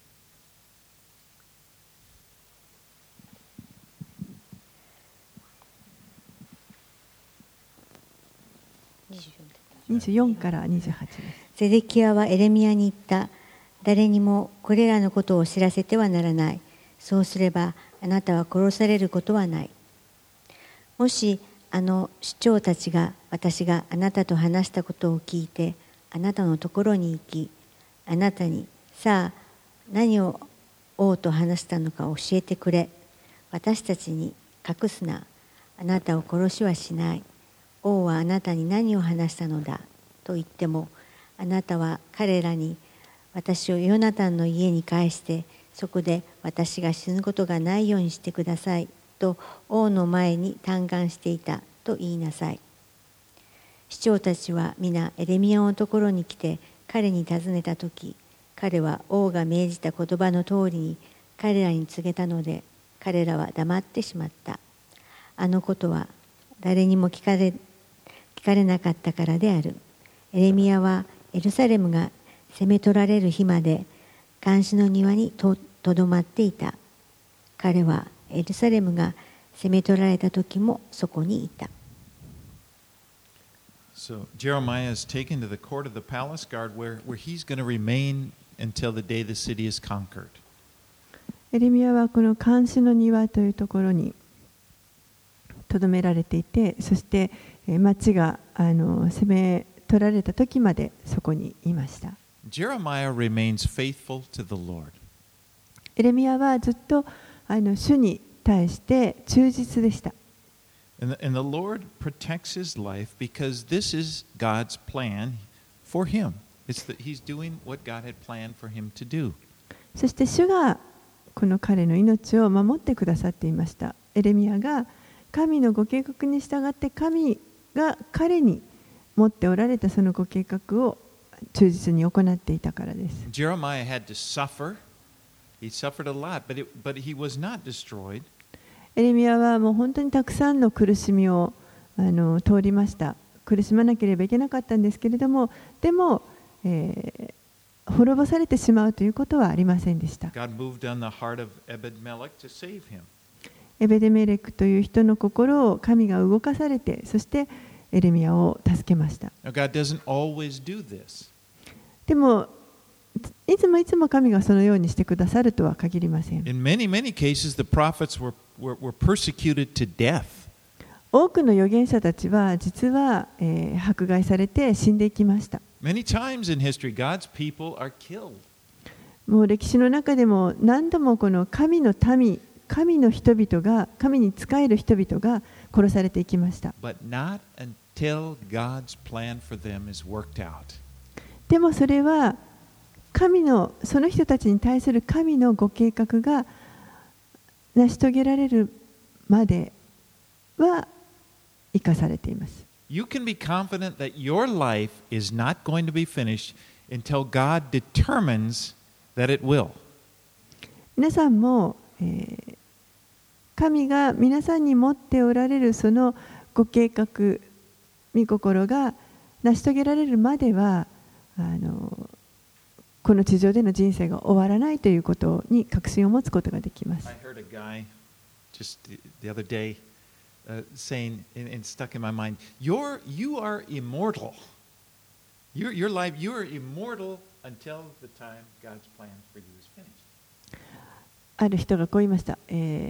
。24から28です。 ゼデキヤはエレミヤに言った。誰にもこれらのことを知らせてはならない。そうすればあなたは殺されることはない。もし首長たちが私があなたと話したことを聞いてあなたのところに行き、あなたにさあ何を王と話したのか教えてくれ。私たちに隠すな。あなたを殺しはしない。王はあなたに何を話したのだと言っても、あなたは彼らに私をヨナタンの家に帰してそこで私が死ぬことがないようにしてくださいと王の前に嘆願していたと言いなさい。首長たちは皆エレミヤのところに来て彼に尋ねたとき、 彼は王が命じた言葉の通りに彼らに告げたので、彼らは黙ってしまった。あのことは誰にも聞かれなかったからである。エレミヤはエルサレムが攻め取られる日まで監視の庭にとどまっていた。彼はエルサレムが攻め取られた時もそこにいた。 So Jeremiah is taken to the court of the palace guard where he's going to remain until the day the city is conquered. エレミヤはこの監視の庭というところにとどめられていて、そして町が攻め取られた時までそこにいました。 Jeremiah remains faithful to the Lord. エレミヤはずっと主に対して忠実でした。 And the Lord protects his life because this is God's plan for him. It's that he's doing what God had planned for him to do. そして主がこの彼の命を守ってくださっていました。エレミヤが神のご計画に従って神が彼に持っておられたそのご計画を忠実に行っていたからです。 Jeremiah had to suffer. He suffered a lot, but he was not destroyed. エレミヤはもう本当にたくさんの苦しみを通りました。苦しまなければいけなかったんですけれども、でも、滅ぼされてしまうということはありませんでした。 God moved on the heart of Ebed-Melech to save him. エベデメレクという人の心を神が動かされて、そしてエレミヤを助けました。 Now, God doesn't always do this. でもいつも神がそのようにしてくださるとは限りません。 In many cases, the prophets were persecuted to death. 多くの預言者たちは実は、迫害されて死んでいきました。 Many times in history, God's people are killed. もう歴史の中でも何度もこの神の民、神の人々が、神に仕える人々が殺されていきました。 But not until God's plan for them is worked out. でもそれはその人たちに対する神のご計画が成し遂げられるまでは生かされています。 You can be confident that your life is not going to be finished until God determines that it will. 皆さんも、神が皆さんに持っておられるそのご計画、御心が成し遂げられるまではこの地上での人生が終わらないということに確信を持つことができます。 I heard a guy just the other day saying, and stuck in my mind, you are immortal. Your life, you are immortal until the time God's plan for you is finished. ある人がこう言いました。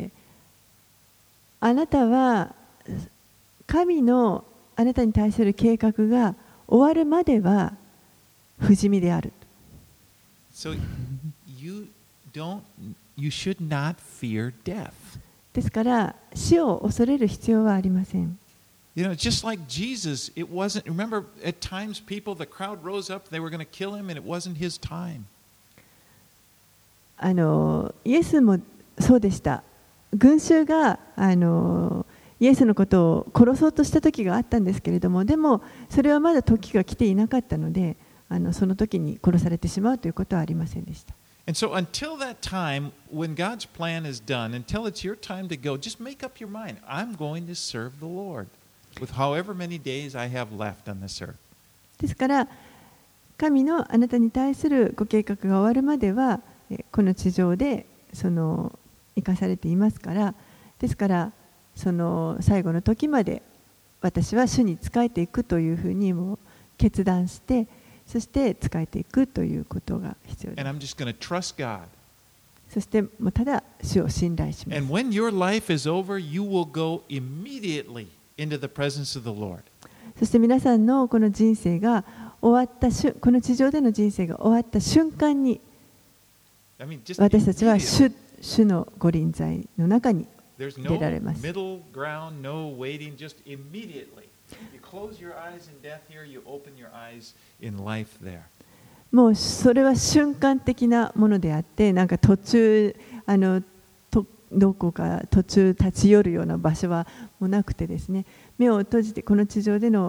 あなたは神のあなたに対する計画が終わるまでは不死身である。 So you should not fear death. ですから死を恐れる必要はありません。 You know, just like Jesus, it wasn't. Remember, at times, the crowd rose up, they were going to kill him, and it wasn't his time. イエスもそうでした。群衆がイエスのことを殺そうとした時があったんですけれども、でもそれはまだ時が来ていなかったので、その時に殺されてしまうということはありませんでした。 And so until that time, when God's plan is done, until it's your time to go, just make up your mind. I'm going to serve the Lord with however many days I have left on this earth. ですから神のあなたに対するご計画が終わるまではこの地上で生かされていますから、ですからその最後の時まで私は主に仕えていくというふうにも決断して、そして仕えていくということが必要です。 And I'm just going to trust God. そしてもうただ主を信頼します。 And when your life is over, you will go immediately into the presence of the Lord. そして皆さんのこの人生が終わったこの地上での人生が終わった瞬間に、私たちは主のご臨在の中に出られます。 Middle ground, no waiting, just immediately. You close your eyes in death here, you open your eyes in life there. もうそれは瞬間的なものであって、なんか途中どこか途中立ち寄るような場所はもうなくてですね、目を閉じてこの地上での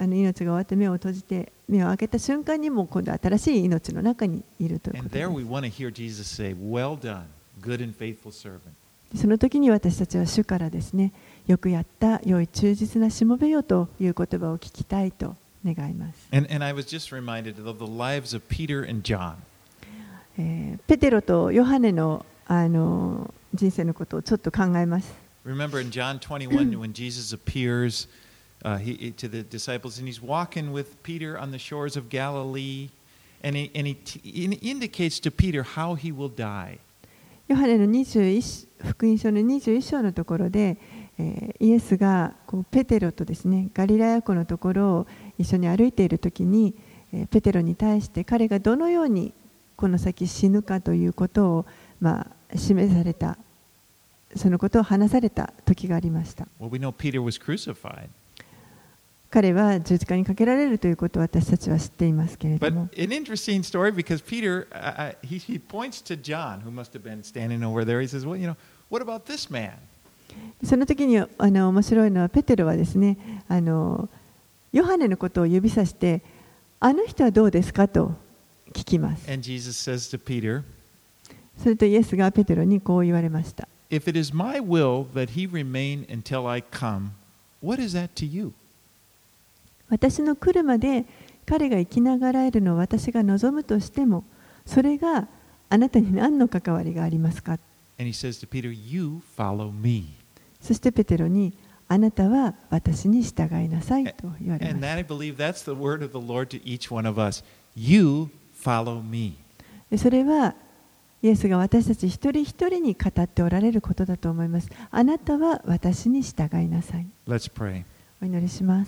命が終わって目を閉じて目を開けた瞬間にも今度新しい命の中にいるというこ And とで there す。 we want to hear Jesus say, "Well done, good and faithful servant." その時に私たちは主からですね、よくやった良い忠実なしもべよという言葉を聞きたいと願います。 And I was just reminded of the lives of Peter and John. ペテロとヨハネの、人生のことをちょっと考えます。 Remember in John 21 when Jesus appears to the disciples and he's walking with Peter on the shores of Galilee and he indicates to Peter how he will die. ヨハネの福音書の21章のところで、イエスがペテロとですね、ガリラヤ湖のところを一緒に歩いているときに、ペテロに対して彼がどのようにこの先死ぬかということを、示された、そのことを話された時がありました。 Well, we know Peter was crucified. 彼は十字架にかけられるということを私たちは知っていますけれど But も、 an interesting story because Peter, he points to John, who must have been standing over there. He says, "Well, what about this man?" その時に面白いのはペテロはですね、ヨハネのことを指さして、あの人はどうですかと聞きます。 And Jesus says to Peter, それとイエスがペテロにこう言われました。 "If it is my will that he remain until I come, what is that to you?" 私の来るまで彼が生きながらえるのを私が望むとしても、それがあなたに何の関わりがありますか。 And he says to Peter, "You follow me." そしてペテロに、あなたは私に従いなさいと言われ And ま that す。 I believe that's the word of the Lord to each one of us. You follow me. それはイエスが私たち一人一人に語っておられることだと思います。あなたは私に従いなさい。 Let's pray. お祈りします。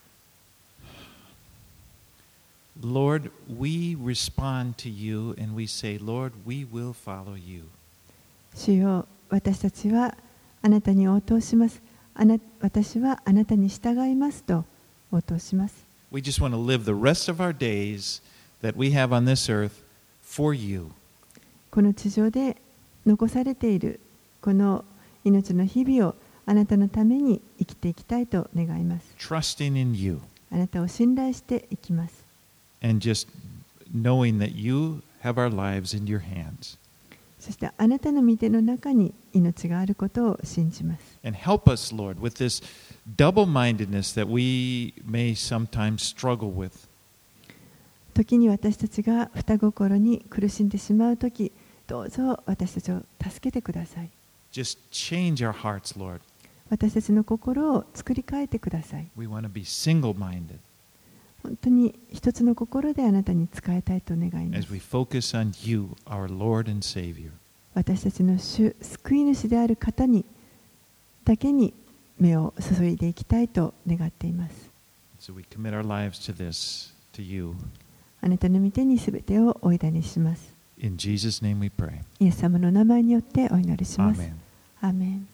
Lord, we respond to you and we say, Lord, we will follow you. 主よ、私たちはあなたに応答します。私はあなたに従いますと応答します。 We just want to live the rest of our days that we have on this earth for you. この地上で残されているこの命の日々をあなたのために生きていきたいと願います。 Trusting in you あなたを信頼していきます。 and just knowing that you have our lives in your hands. そしてあなたの御手の中に命があることを信じます。 And help us, Lord, with this double-mindedness that we may sometimes struggle with. 時に私たちが双心に苦しんでしまうとき、どうぞ私たちを助けてください。 Just change our hearts, Lord. 私たちの心を作り変えてください。 We want to be single-minded 本当に一つの心であなたに仕えたいと願いま as す。 we focus on you, our Lord and Savior. 私たちの主、救い主である方にだけに目を注いでいきたいと願っています。 So we commit our lives to this, to you. あなたの御手にすべてをお委ねします。 In Jesus' name we pray. イエス様の名前によってお祈りします。 Amen. アーメン。